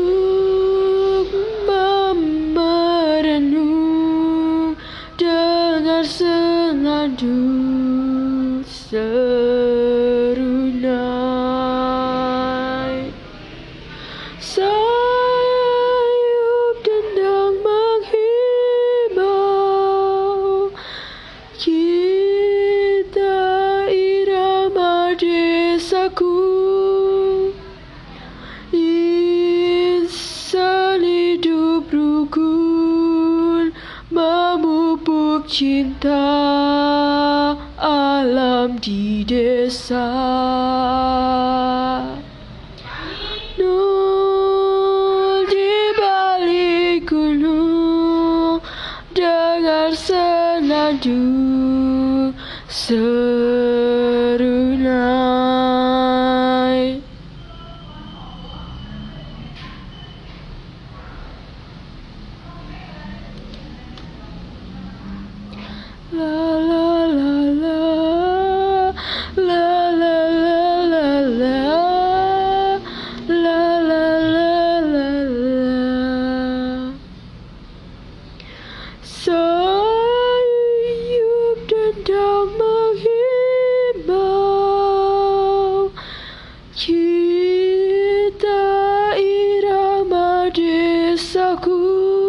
Duduk merenung, dengar senandung serunai. Sayup dendang menghimbau, kita irama desaku. Insan hidup rukun, memupuk cinta alam di desa. Nol di balik gunung, dengar senandung serunai. La la la la, la la la la la, la la la la. Sayup dendang menghimbau, kita irama desaku.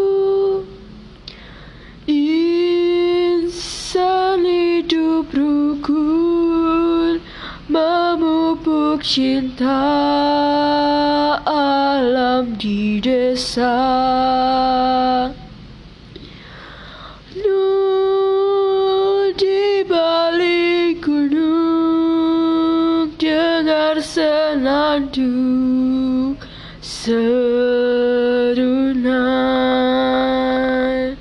Insan hidup rukun, memupuk cinta alam di desa. Nol di balik gunung, dengar senandung serunai.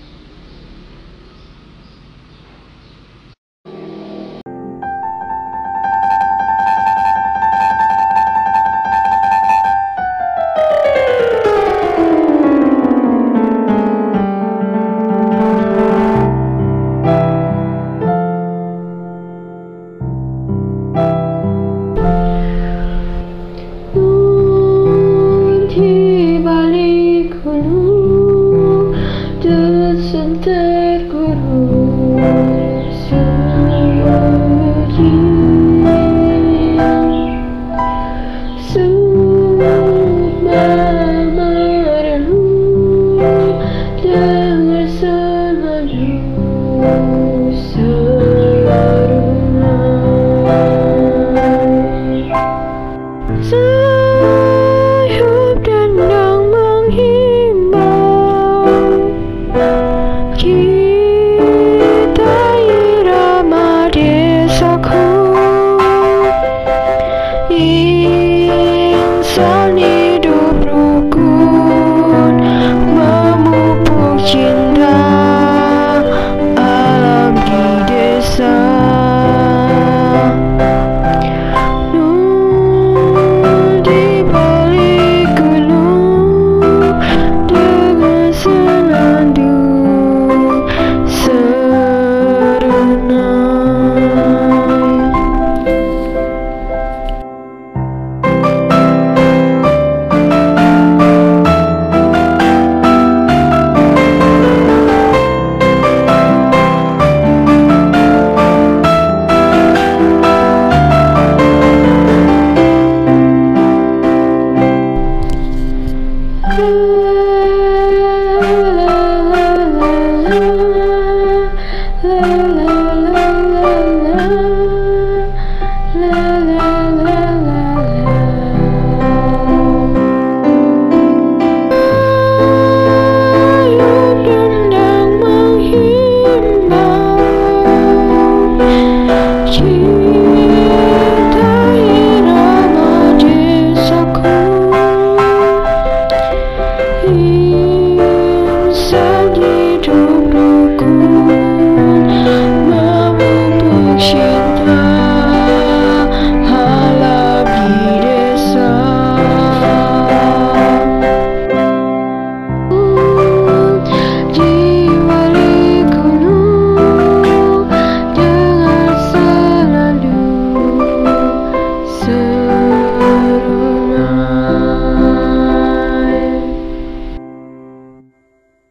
Di balik gunung, dusun terkurung sunyi. Sumber merenung, dengar senandung serunai. Sayup dendang menghimbau, kita irama desaku. Insan hidup rukun, memupuk cinta alam di desa.